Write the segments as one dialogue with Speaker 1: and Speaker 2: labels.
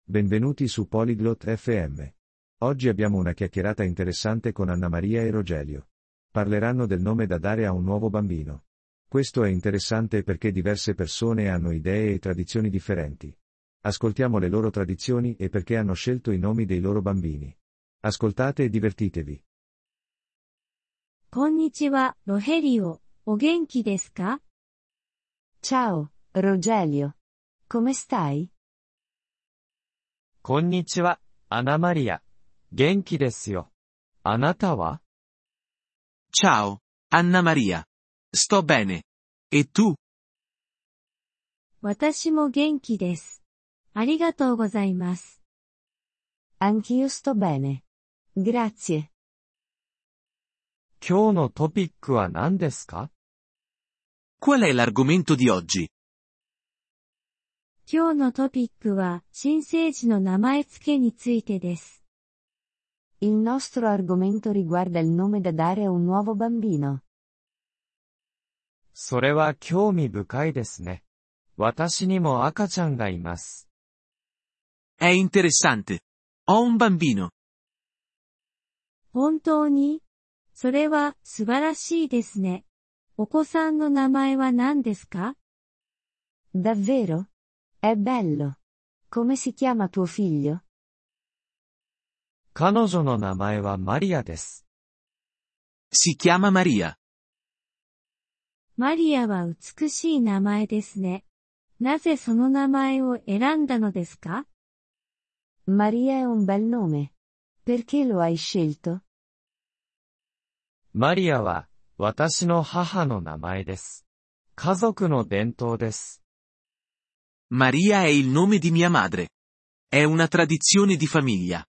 Speaker 1: Benvenuti su Polyglot FM. Oggi abbiamo una chiacchierata interessante con Anna Maria e Rogelio. Parleranno del nome da dare a un nuovo bambino. Questo è interessante perché diverse persone hanno idee e tradizioni differenti. Ascoltiamo le loro tradizioni e perché hanno scelto i nomi dei loro bambini. Ascoltate e divertitevi.
Speaker 2: こんにちは、ロヘリオ。お元気ですか?
Speaker 3: Ciao, Rogelio. Come stai?
Speaker 4: こんにちは、アナマリア。元気ですよ。あなたは?
Speaker 5: Ciao, Anna Maria. Sto bene. E tu?
Speaker 2: 私も元気です。ありがとうございます。
Speaker 3: Anch'io sto bene. Grazie.
Speaker 4: 今日のトピックは何ですか?
Speaker 5: Qual è l'argomento di oggi?
Speaker 2: 今日のトピックは、新生児の名前付けについてです。
Speaker 3: Il nostro argomento riguarda il nome da dare a un nuovo bambino.
Speaker 4: それは興味深いですね。私にも赤ちゃんがいます。
Speaker 5: È interessante. Ho un bambino.
Speaker 2: 本当に? それは素晴らしいですね。お子さんの名前は何ですか?
Speaker 3: Davvero? È bello. Come si chiama tuo figlio?
Speaker 4: 彼女の名前はマリアです。
Speaker 5: Si chiama Maria.
Speaker 2: マリアは美しい名前ですね。なぜその名前を選んだのですか?
Speaker 3: Maria è un bel nome. Perché lo hai scelto?
Speaker 4: マリアは、私の母の名前です。家族の伝統です。
Speaker 5: Maria è il nome di mia madre. È una tradizione di famiglia.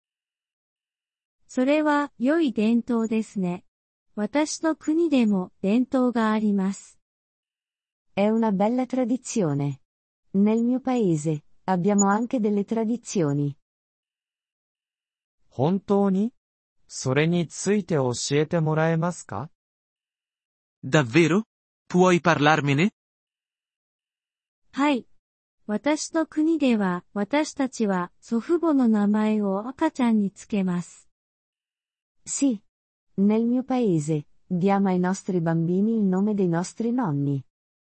Speaker 2: それは良い伝統ですね。私の国でも伝統があります。
Speaker 3: È una bella tradizione. Nel mio paese, abbiamo anche delle tradizioni.
Speaker 4: 本当に? それについて教えてもらえますか?
Speaker 5: Davvero? Puoi parlarmene?
Speaker 2: はい。私の国では、私たちは祖父母の名前を赤ちゃんにつけます。
Speaker 3: Sì. Nel mio paese, diamo ai nostri bambini il nome dei nostri nonni.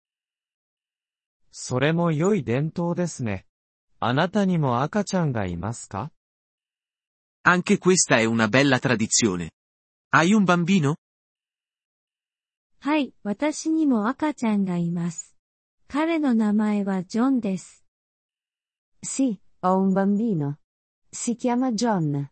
Speaker 4: それも良い伝統ですね。あなたにも赤ちゃんがいますか?
Speaker 5: Anche questa è una bella tradizione. Hai un bambino?
Speaker 2: はい、私にも赤ちゃんがいます。彼の名前はジョンです。
Speaker 3: Sì, ho un bambino. Si chiama John.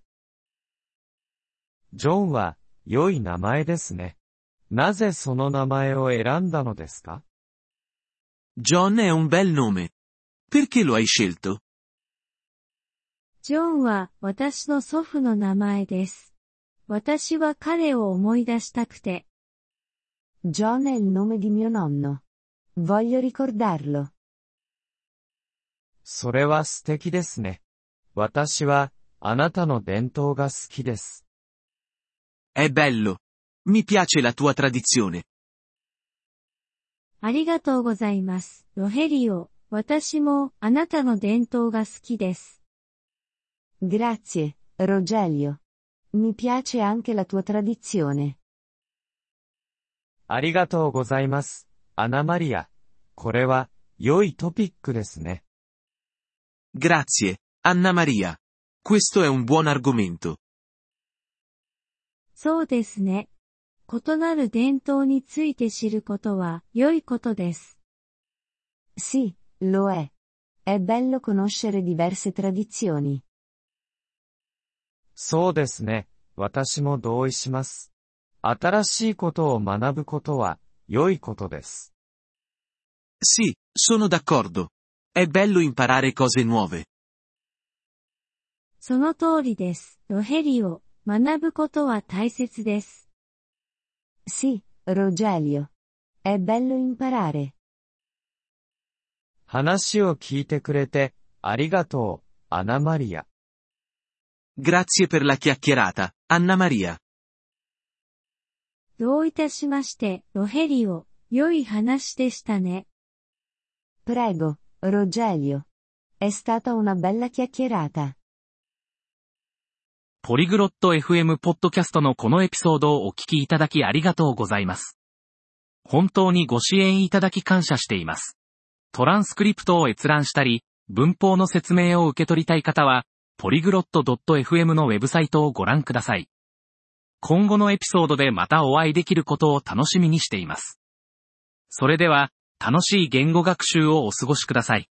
Speaker 4: ジョンは、良い名前ですね。なぜその名前を選んだのですか?
Speaker 5: John è un bel nome. Perché lo hai scelto?
Speaker 2: ジョンは私の祖父の名前です。私は彼を思い出したくて。
Speaker 3: John è il nome di mio nonno. Voglio ricordarlo.
Speaker 4: それは素敵ですね。私は、あなたの伝統が好きです。
Speaker 5: È bello. Mi piace la tua tradizione.
Speaker 2: ありがとうございます、ロヘリオ。私も、あなたの伝統が好きです。
Speaker 3: Grazie, Rogelio. Mi piace anche la tua tradizione.
Speaker 4: ありがとうございます、アナマリア。これは、良いトピックですね。
Speaker 5: Grazie, Anna Maria. Questo è un buon argomento.
Speaker 2: そうですね。異なる伝統について知ることは良いことです。
Speaker 3: Sì, lo è. È bello conoscere diverse tradizioni.
Speaker 4: そうですね。私も同意します。新しいことを学ぶことは、良いことです。
Speaker 5: Sì, sono d'accordo. È bello imparare cose nuove.
Speaker 2: その通りです、ロヘリオ。学ぶことは大切です。
Speaker 3: Sì, Rogelio. È bello imparare.
Speaker 4: 話を聞いてくれて、ありがとう、アナマリア。
Speaker 5: Grazie per la chiacchierata, Anna Maria.
Speaker 2: どういたしまして、ロヘリオ。良い話でしたね。
Speaker 3: Prego, Rogelio. È stata una bella chiacchierata.
Speaker 6: ポリグロット FM ポッドキャストのこのエピソードをお聞きいただきありがとうございます。本当にご支援いただき感謝しています。トランスクリプトを閲覧したり、文法の説明を受け取りたい方は、ポリグロット .fm のウェブサイトをご覧ください。今後のエピソードでまたお会いできることを楽しみにしています。それでは、楽しい言語学習をお過ごしください。